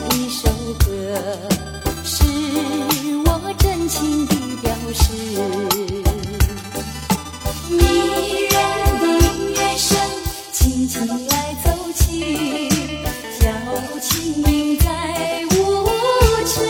一首歌，是我真情的表示。迷人的音乐声轻轻来奏起，脚步轻盈在舞池。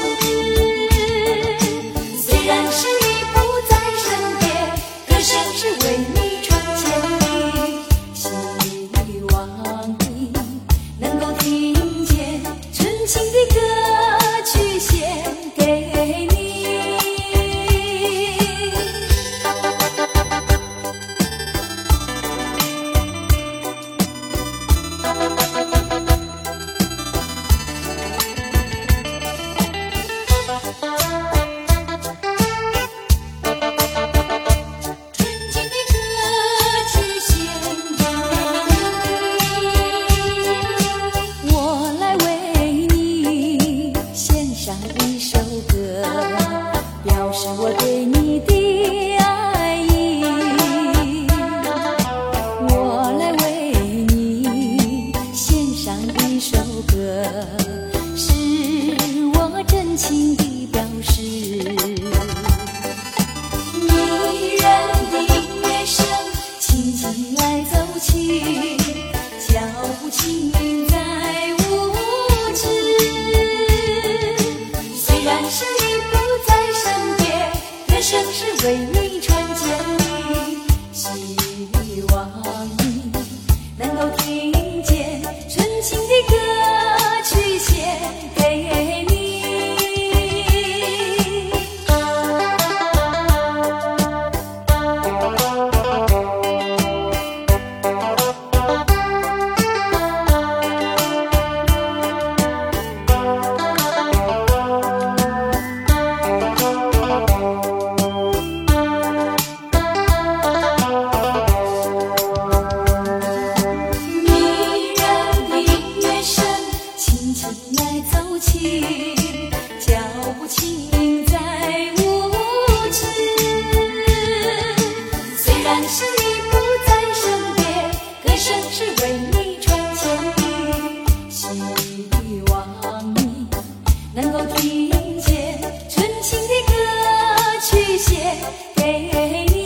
虽然是你不在身边，歌声是为你传千里。希望你能够听见纯情的歌曲献给你。表示我对你的爱意，我来为你献上一首歌，是我真情的表示。迷人的音乐声轻轻来奏起，脚步轻盈在舞池。虽然是你不在身边，歌声是为你传千里。希望你能够听见纯情的歌曲献给你。脚步轻盈在舞池，虽然是你不在身边，歌声是为你传千里。希望你能够听见纯情的歌曲献给你。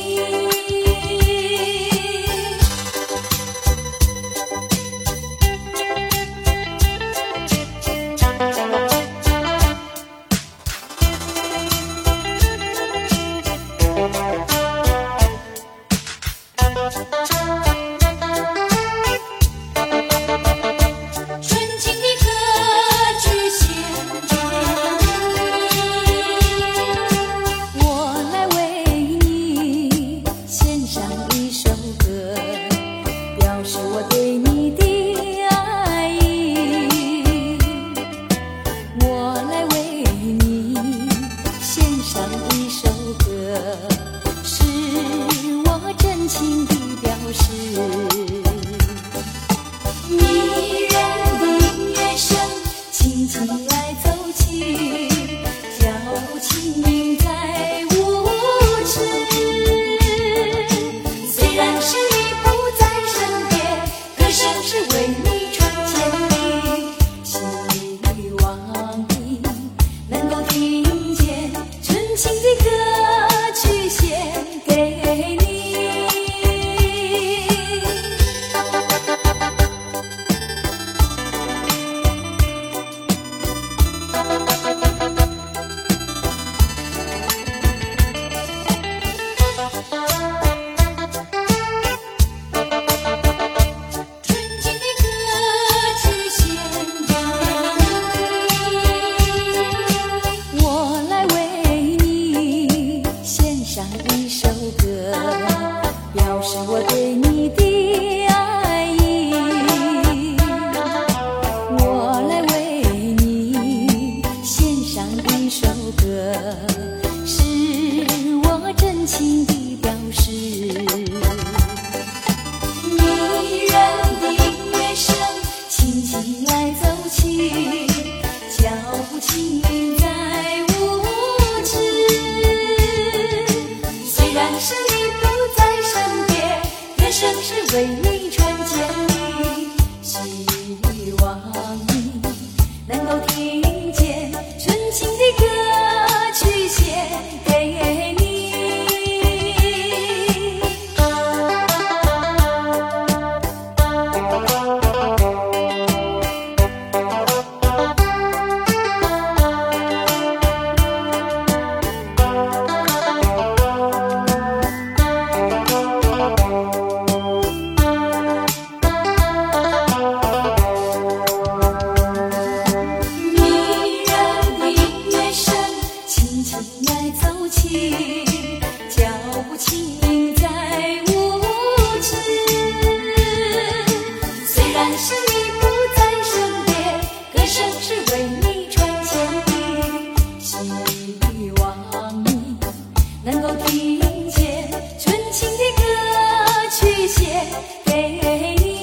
为你传千里，希望你能够听见纯情的歌曲献给你。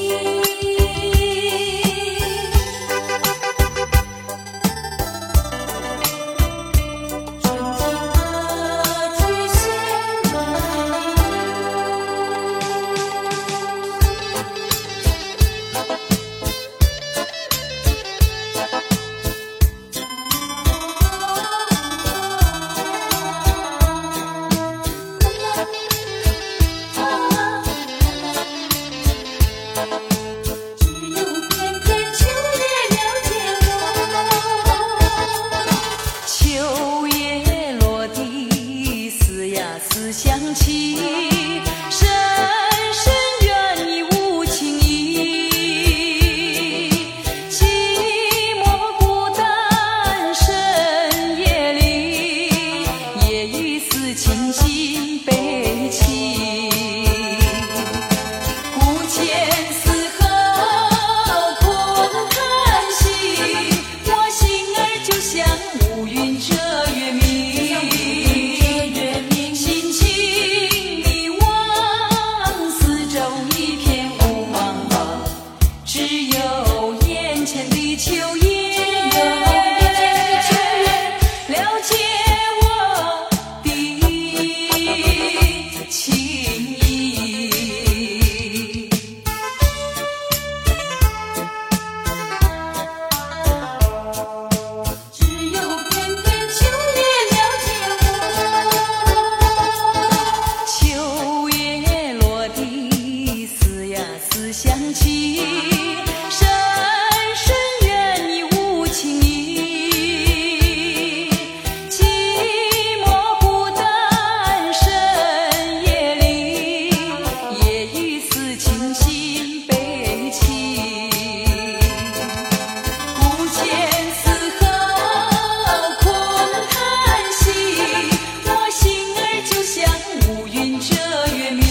纯情歌曲献给只有片片秋叶了解我，秋叶落地，丝呀丝香气，深深愿你无情意，寂寞孤单深夜里，夜雨思倾心悲泣。古剑嘶吼困叹息，我心儿就像乌云遮月明，心情迷惘，四周一片雾茫茫，只有眼前的秋叶了解我的情意。只有片片秋叶了解我，秋叶落地，丝呀丝香气，深深愿你无情意，寂寞孤单深夜里，夜雨思倾心悲泣。古剑嘶吼困叹息，我心儿就像乌云遮月明，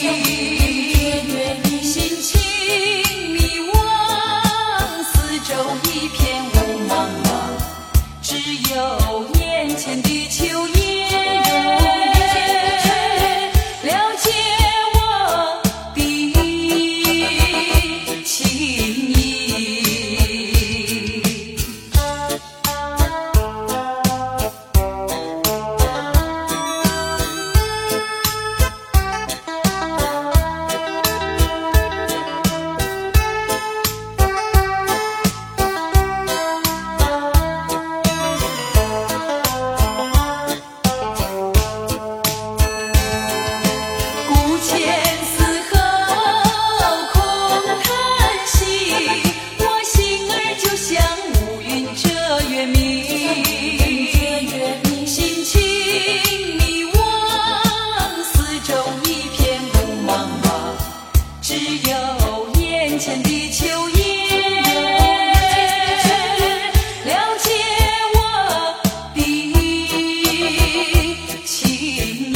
心情迷惘，四周一片雾茫茫，只有眼前的秋叶了解我的情意。古剑嘶吼困叹息，我心儿就像乌云遮月明，心情迷惘，四周一片雾茫茫，只有眼前的秋叶了解我的情意。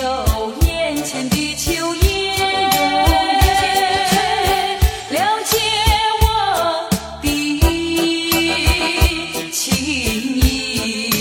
有年前的秋叶，了解我的情意。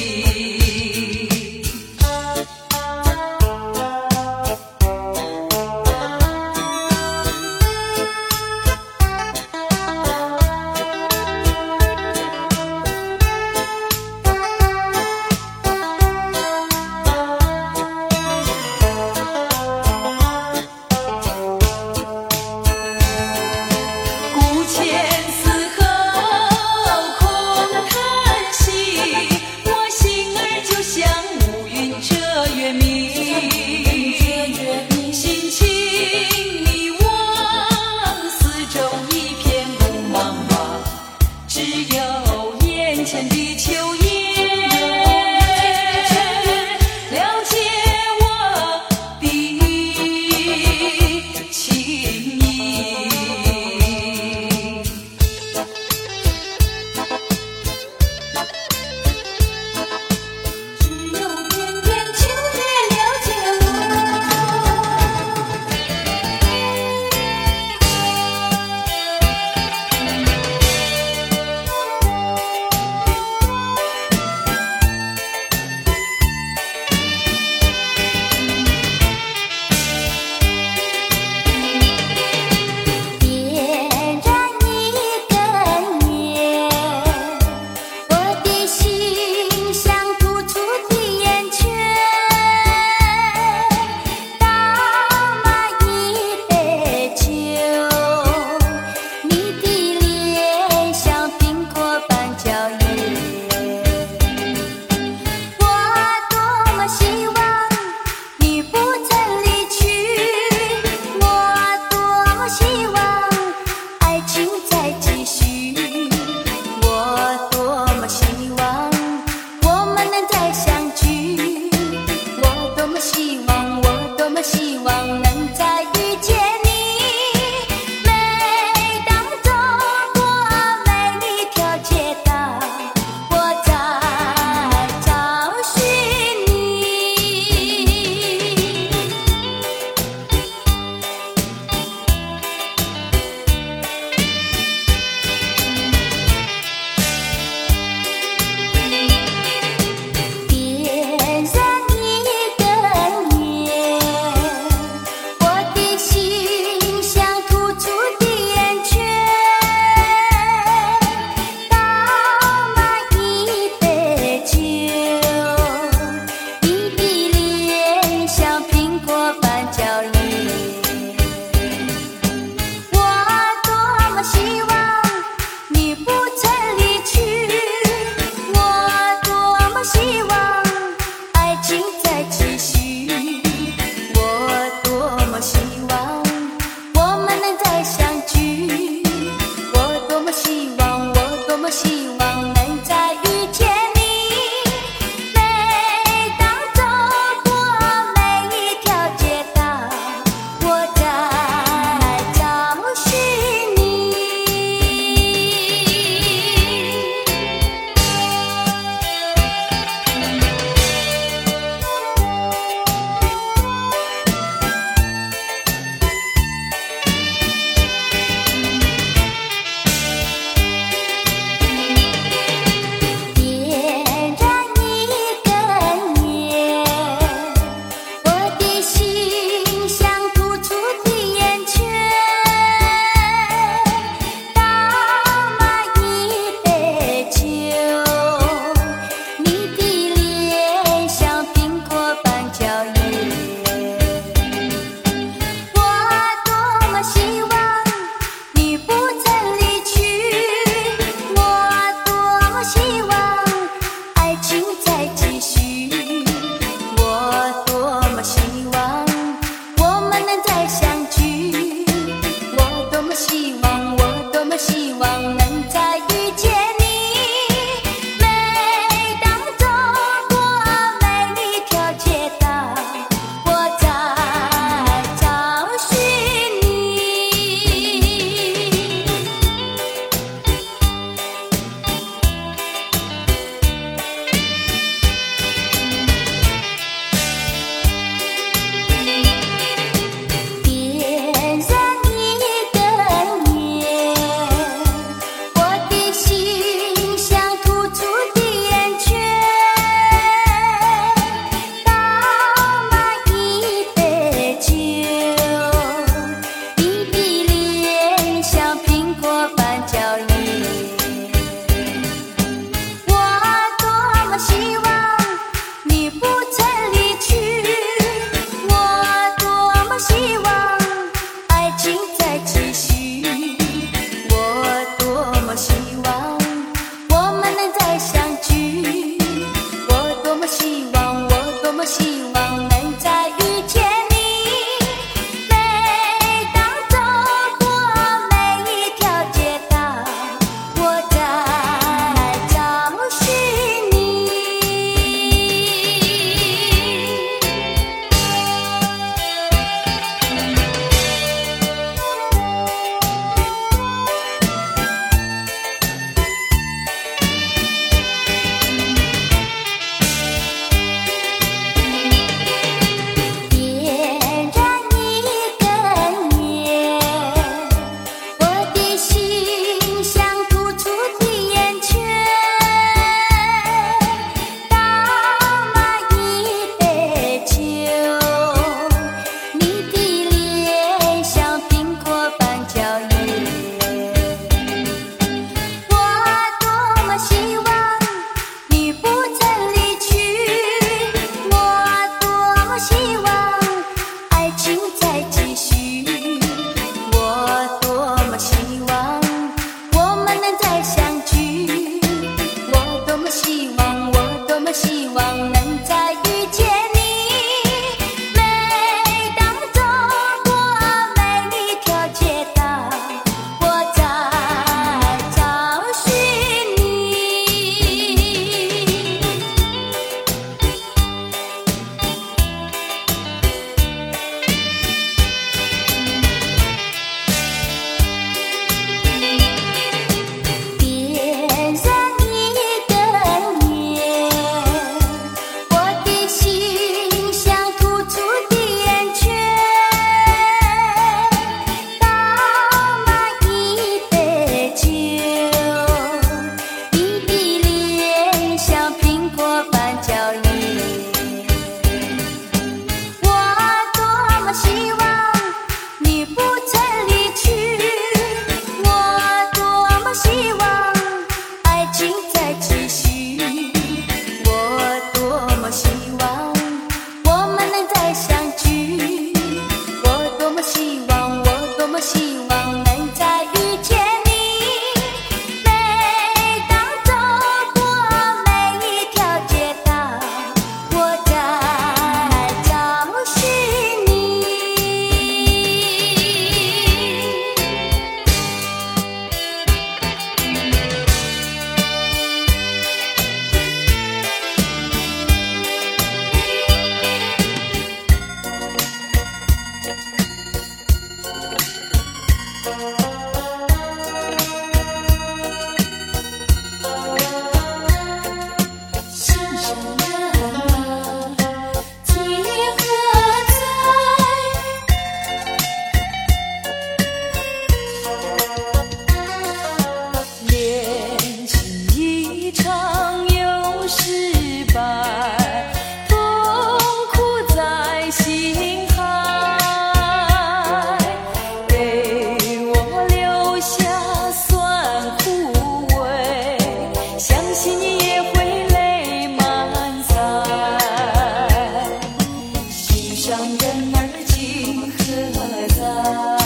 今何在？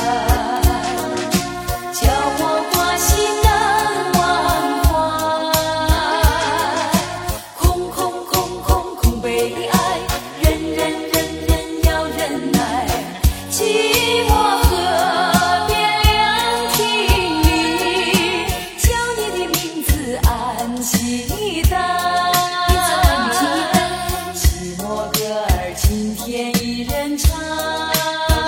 叫我挂心难忘怀，空空空空空悲哀，人人人人要忍耐，寂寞河边凉亭里，叫你的名字暗期待。寂寞歌儿今天一人唱。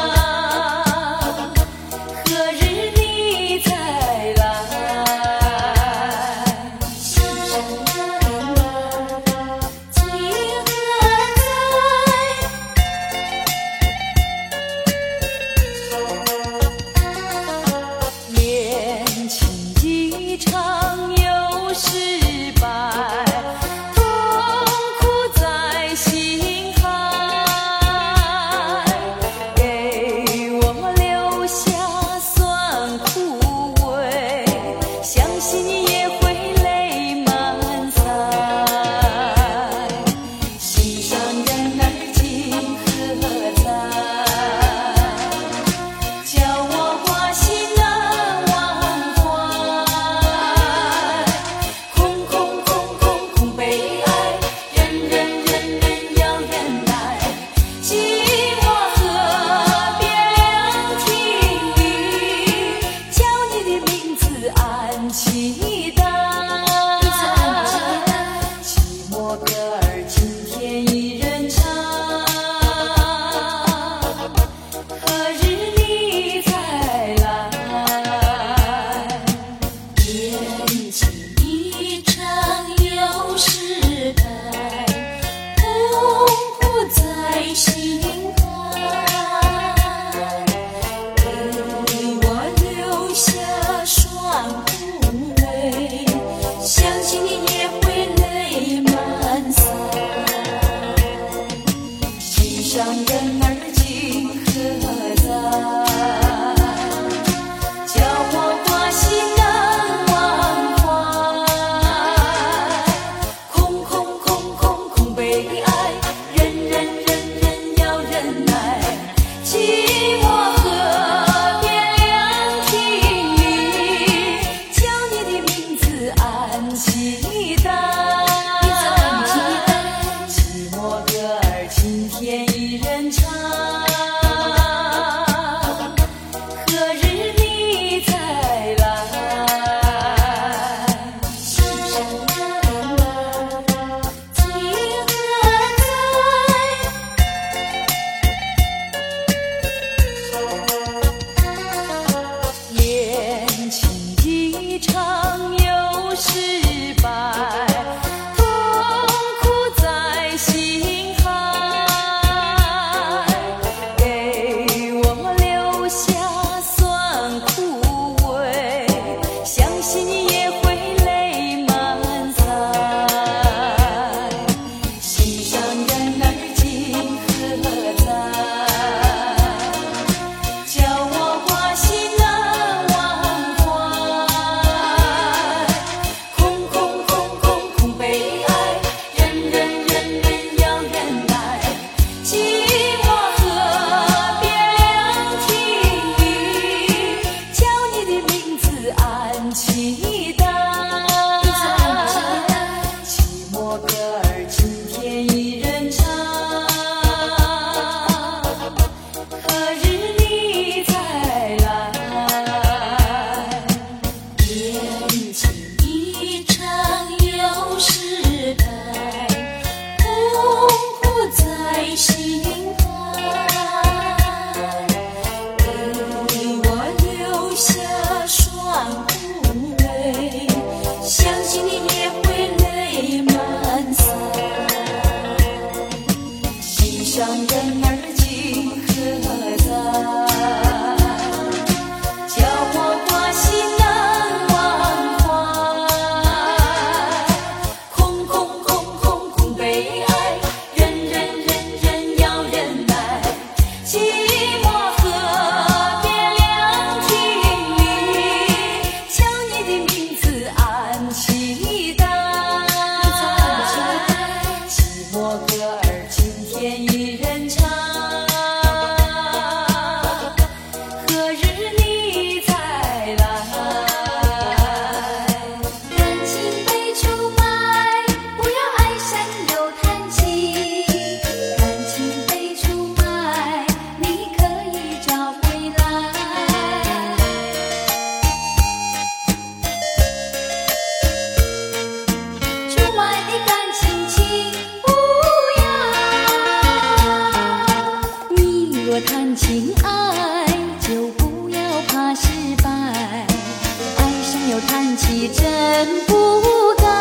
爱，就不要怕失败。爱上要谈起真不该，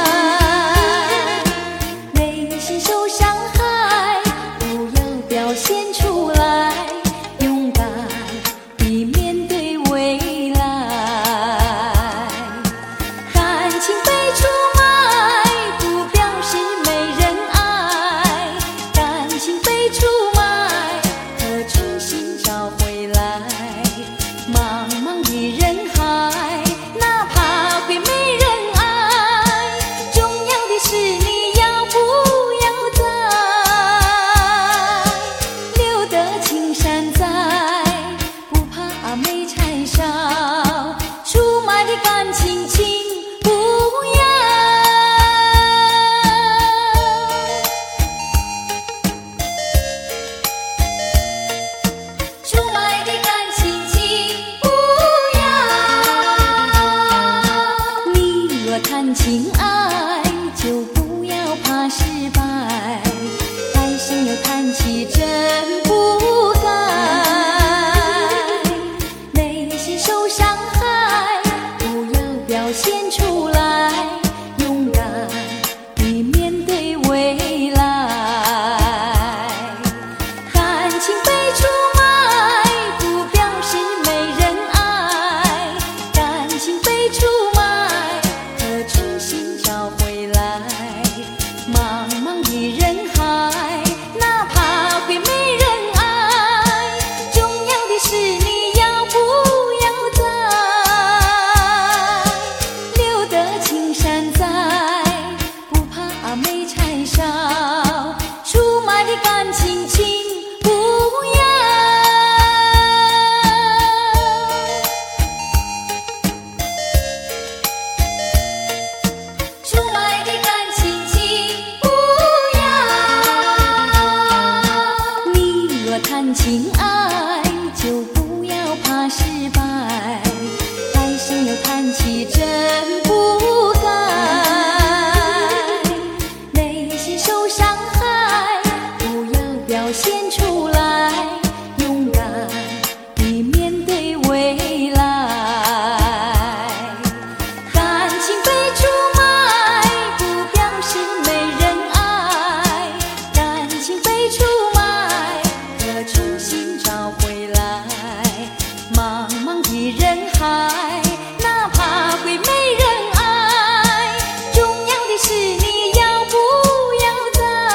内心受伤害，不要表现出来，勇敢地面对未来。感情被出卖，不表示没人爱，感情被出卖，可重新找回来。茫茫的人海，哪怕会没人爱，重要的是你要不要在，留得青山在，不怕没柴烧，出卖的感情请不要，出卖的感情请不要。你若谈情爱，就不要怕失败，爱上要谈起真不该，内心受伤害，不要表现出来，勇敢地面对未来。感情被出卖，不表示没人爱，感情被出卖，可重新找回来。茫茫的人海，哪怕会没人爱，重要的是你要不要在，留得青山在，不怕没柴烧，出卖的感情请不要，出卖的感情请不要。你若谈情爱，就不要怕失败，爱上要谈起真不该，内心受伤害，不要表现出来，勇敢地面对未来。感情被出卖，不表示没人爱，感情被出卖，可重新找回来。茫茫的人海，哪怕会没人爱，重要的是你要不要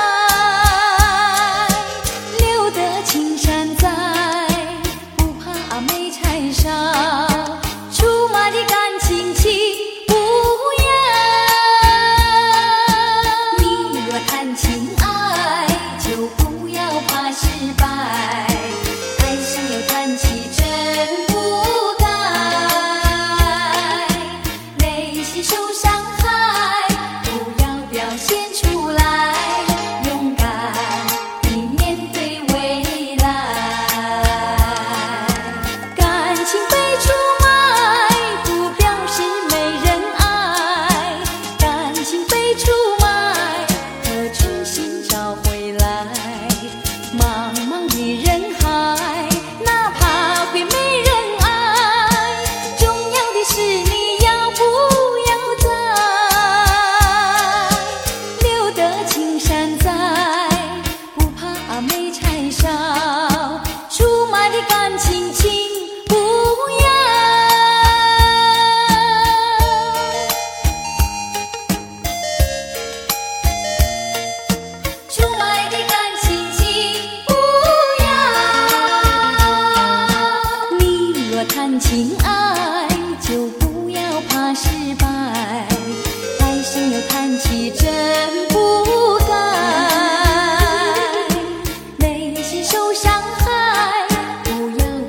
在，留得青山在，不怕没柴烧，出卖的感情请不要。你若谈情爱，就不要怕失败，爱上要谈起真不该，内心受伤害，不要表现出来，勇敢地面对未来。感情被出卖，不表示没人爱，感情被出卖，可重新找回来。茫茫的人海，哪怕会没人爱，重要的是你要不要在，留得青山在，不怕没柴烧，出卖的感情请不要，出卖的感情请不要。你若谈情爱，就不要怕失败，爱上要谈起真不该，内心受伤害，不要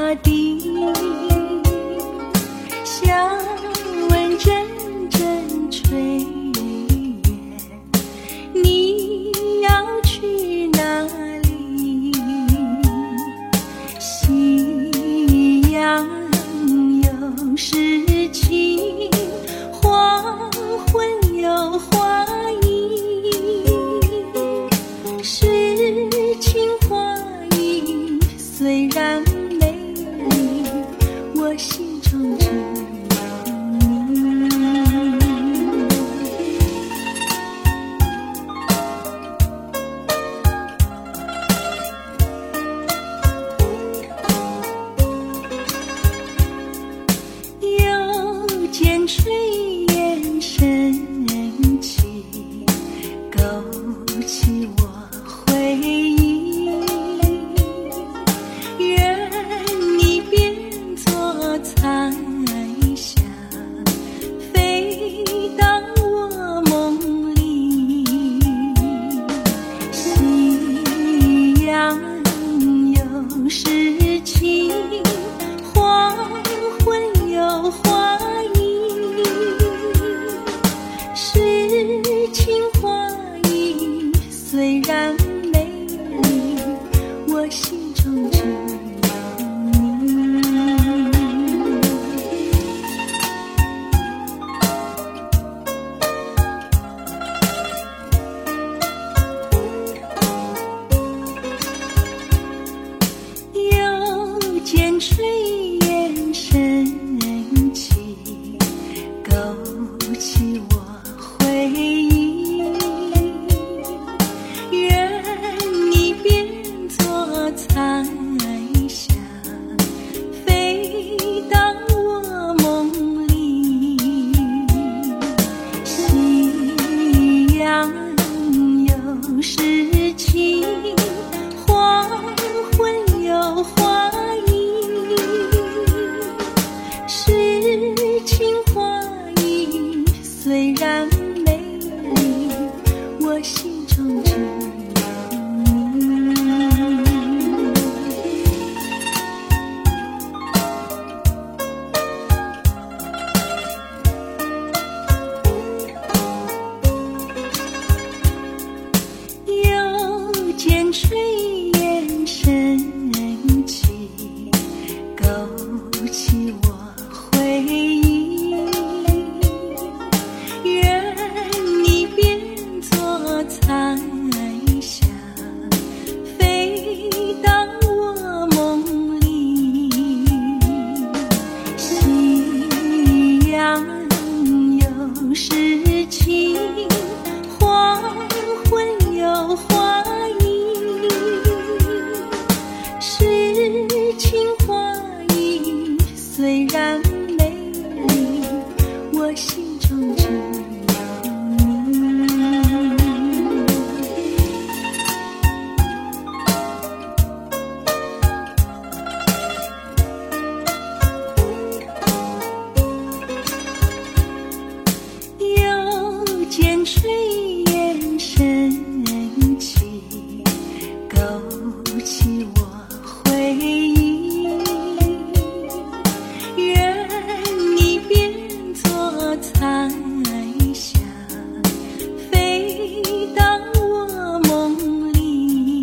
地，想问阵阵炊烟，你要去哪里？夕阳有诗情，黄昏有花意，诗情画意虽然美丽，我心中只有你。又见炊烟升起，勾起我回忆，愿你变作彩霞，飞到我梦里。夕阳有诗情，黄昏有花意，诗情画意虽然美丽，我心中只有你。又见炊烟升起，勾起我回忆，愿你变作彩霞，飞到我梦里。夕阳有诗情，黄昏有花意，诗情画意虽然美丽，我心中只有你。又见炊烟升起，勾起我回忆，愿你变作彩霞，飞到我梦里。夕阳有诗情，黄昏有花意，诗情画意虽然美丽，我心中只有你。又见炊烟升起，勾起我回忆，愿你变作彩霞，飞到我梦里。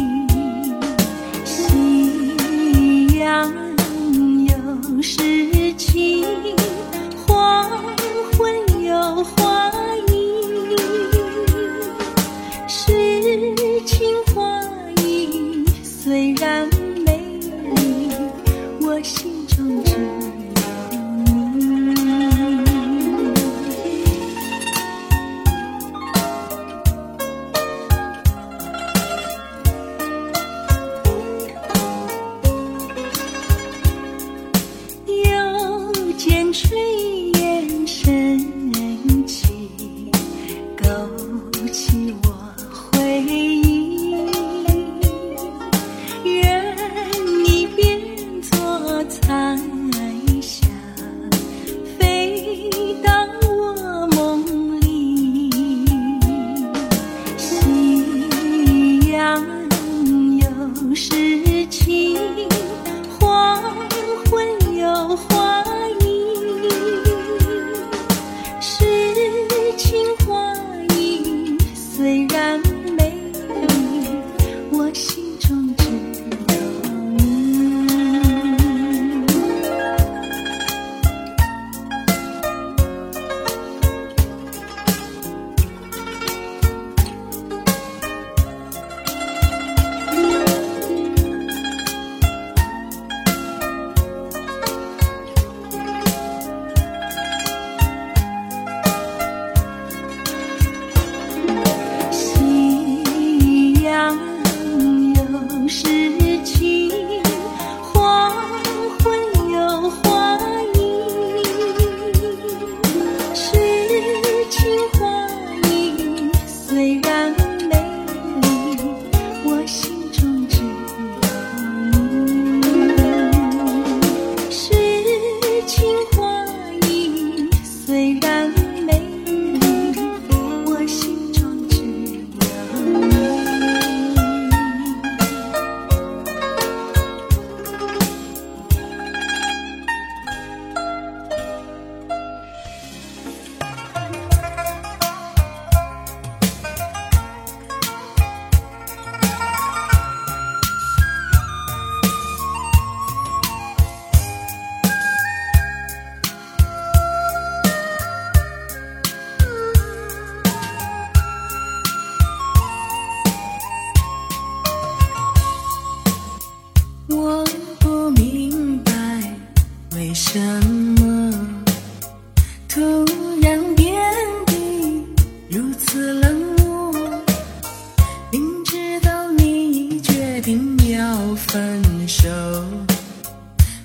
夕阳有诗情，黄昏有花意，诗情画意虽然美丽，我心中只有你。又见炊烟升起，勾起我回忆，愿你变作彩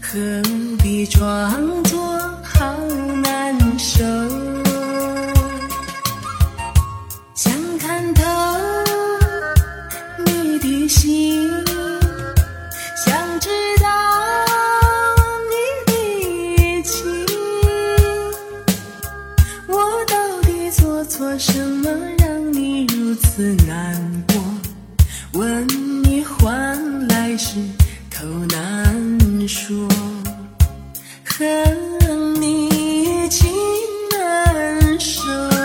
何必装作好难受？想看透你的心，想知道你的情，我到底做错什么让你如此难过？问你换来时口难说，恨你情难舍。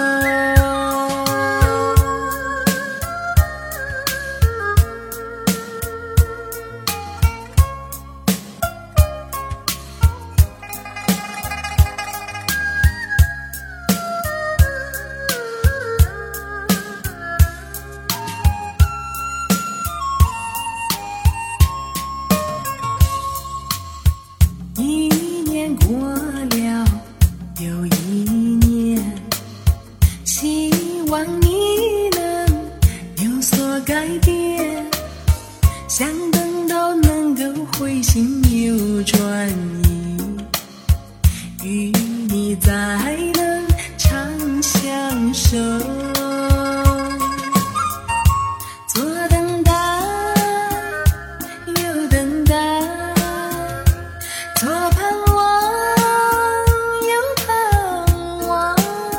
一年过了又一年，希望你能有所改变，想等到能够回心又转意，与你再能长相守。左等待右等待，左盼望右盼望，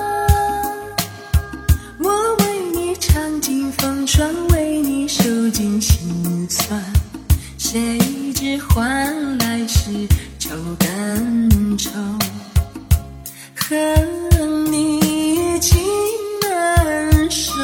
我为你尝尽风霜，为你受尽辛酸，谁知换来是愁更愁，恨你情难舍。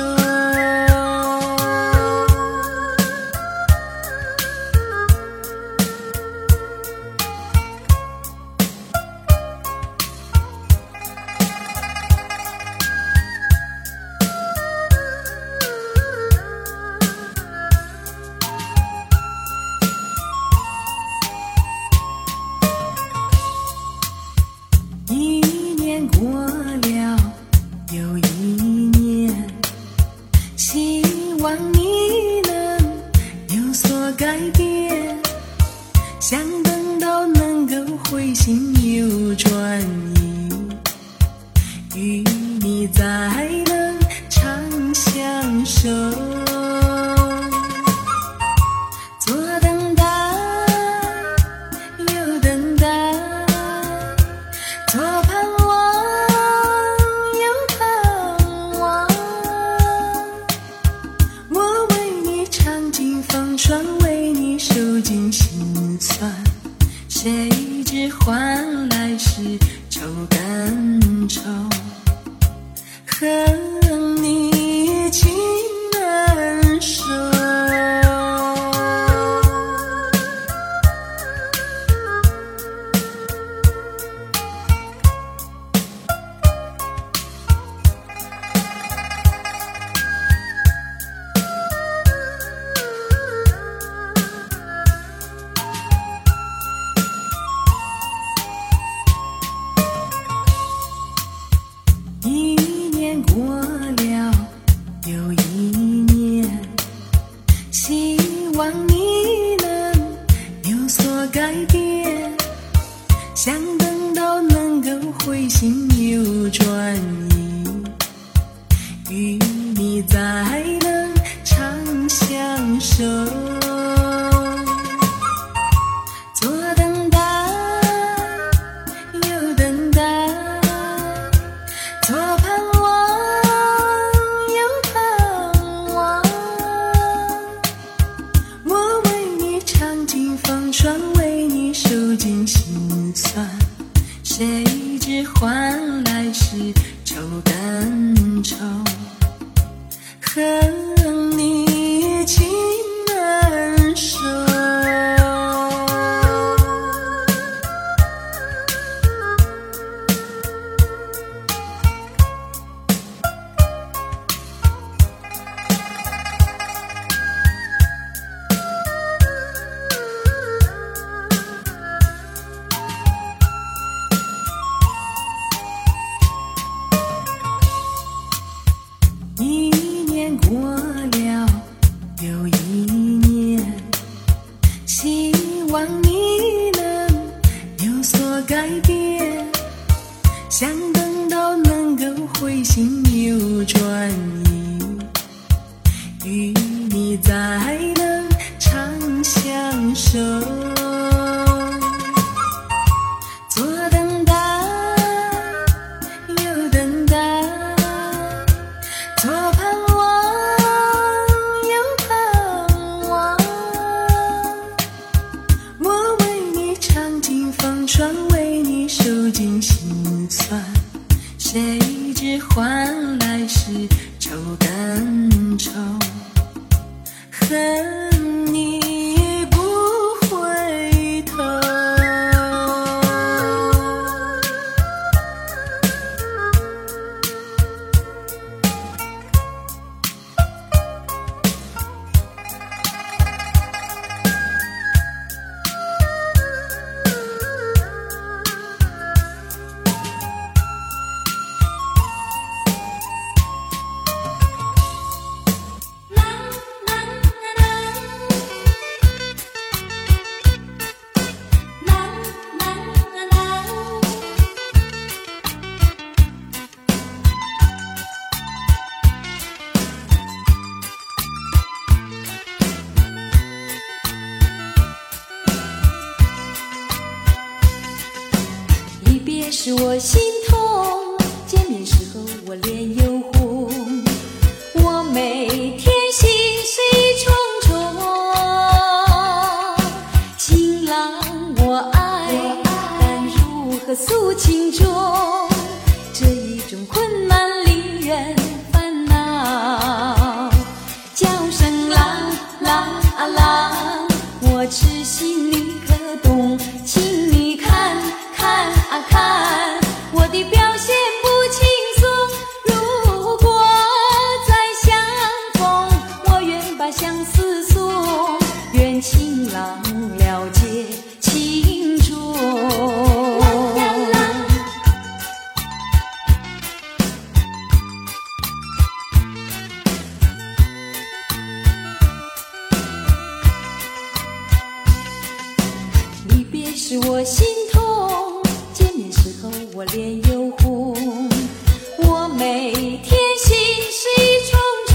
一年过了又一年，希望你能有所改变，想等到能够回心又转意，与你再能长相守。左等待右等待，左盼望右盼望，我为你尝尽风霜，为你受尽辛酸，谁知换来是愁更愁，恨你情难舍。一年过了又一年，希望你能有所改变，想等到能够回心又转意，与你再能长相守。左等待右等待，左盼望右盼望，我为你尝尽风霜，为你受尽辛酸，谁知换来是愁更愁，恨你情难舍。 改变，想等到能够回心扭转意，与你再能长相守。左等待，右等待，左盼望，右盼望。我为你尝尽风霜，为你受尽辛酸，谁知换来是愁更愁，恨你不回头。 是我心痛，见面时候我脸又红，我每天心事重重，情郎我爱，但如何诉情衷？这一种困难令人烦恼，叫声郎郎啊郎，我痴心你可懂，请你看看啊看，我的表现不轻松，如果再相逢，我愿把相思送，愿情郎了解情衷。离别使我心痛，见面时候我脸又红，我每天心事重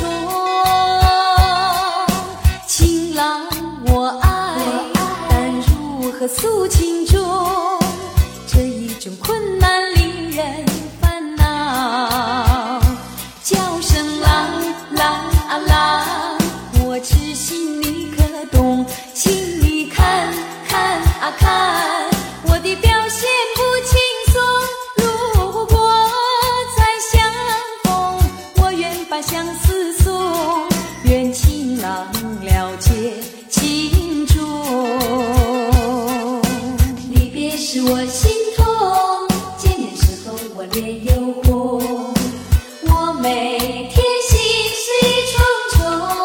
重，情郎我爱，但如何诉情衷？这一种困难令人烦恼，叫声郎郎啊郎，我痴心你可懂，请你看看啊看，我的表现不轻松，如果再相逢，我愿把相思送，愿情郎了解情衷。离别使我心痛，见面时候我脸又红，我每天心事重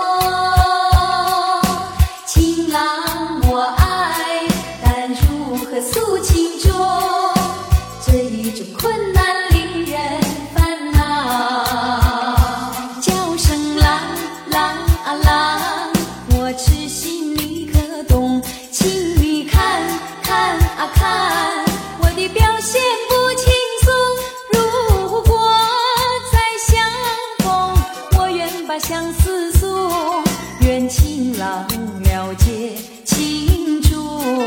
重，情郎我爱，但如何诉情衷？这一种困难令人烦恼，叫声郎郎啊郎，我痴心你可懂，请你看看啊看，我的表现不轻松，如果再相逢，我愿把相思送，愿情郎了解情衷。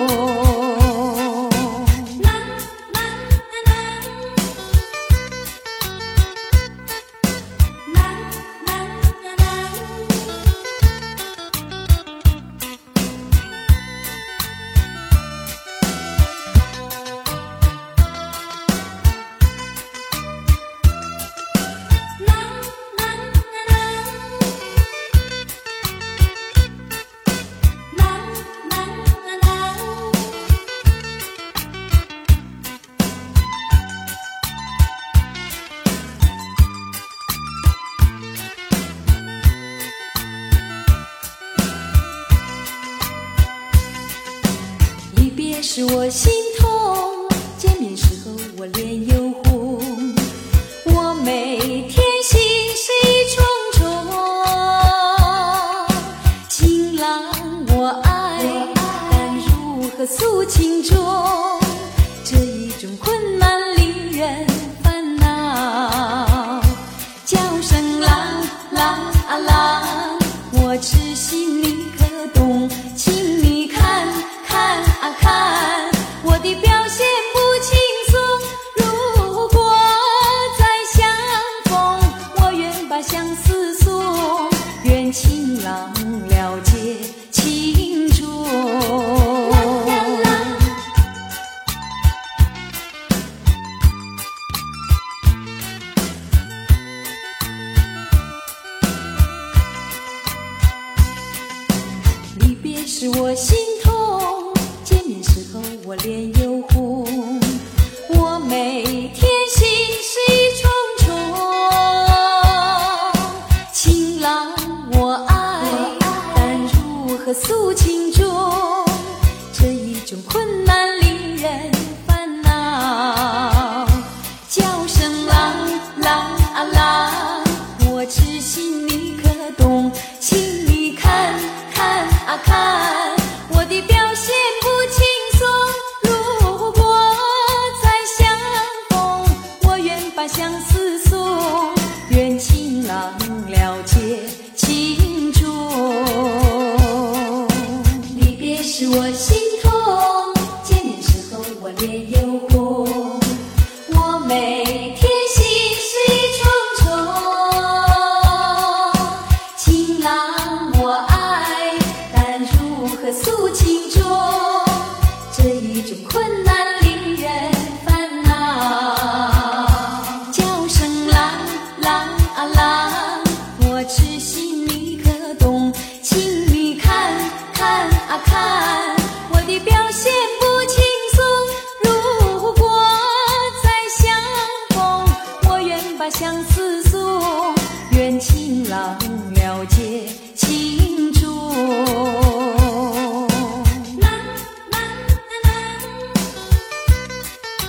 离别使我心痛，见面时候我脸又红，我每天心事重重，情郎我爱，但如何诉情衷？这一种困难令人烦恼。叫声郎郎啊郎，我痴心你可懂？请你看看啊看，我的表现不轻松。如果再相逢，我愿把相思送，愿情郎了解情重。离别时我心痛，见面时候我脸又红。我每天心事重重，情郎我爱，但如何诉情衷？这一种困难令人烦恼。叫声郎郎啊郎，我痴心你可懂？请你看看啊看，我的表现不轻松。如果再相逢，我愿把相思送，愿情郎了解情重。离别时我心痛，见面时候我脸又红。我每天心事重重，情郎我爱，但如何诉情衷？这一种困难令人烦恼。叫声郎郎啊郎，我痴心你可懂？请你看看啊看，我的表现不轻松。如果再相逢，我愿把相思送，愿情郎了解情重。郎郎啊郎，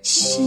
心。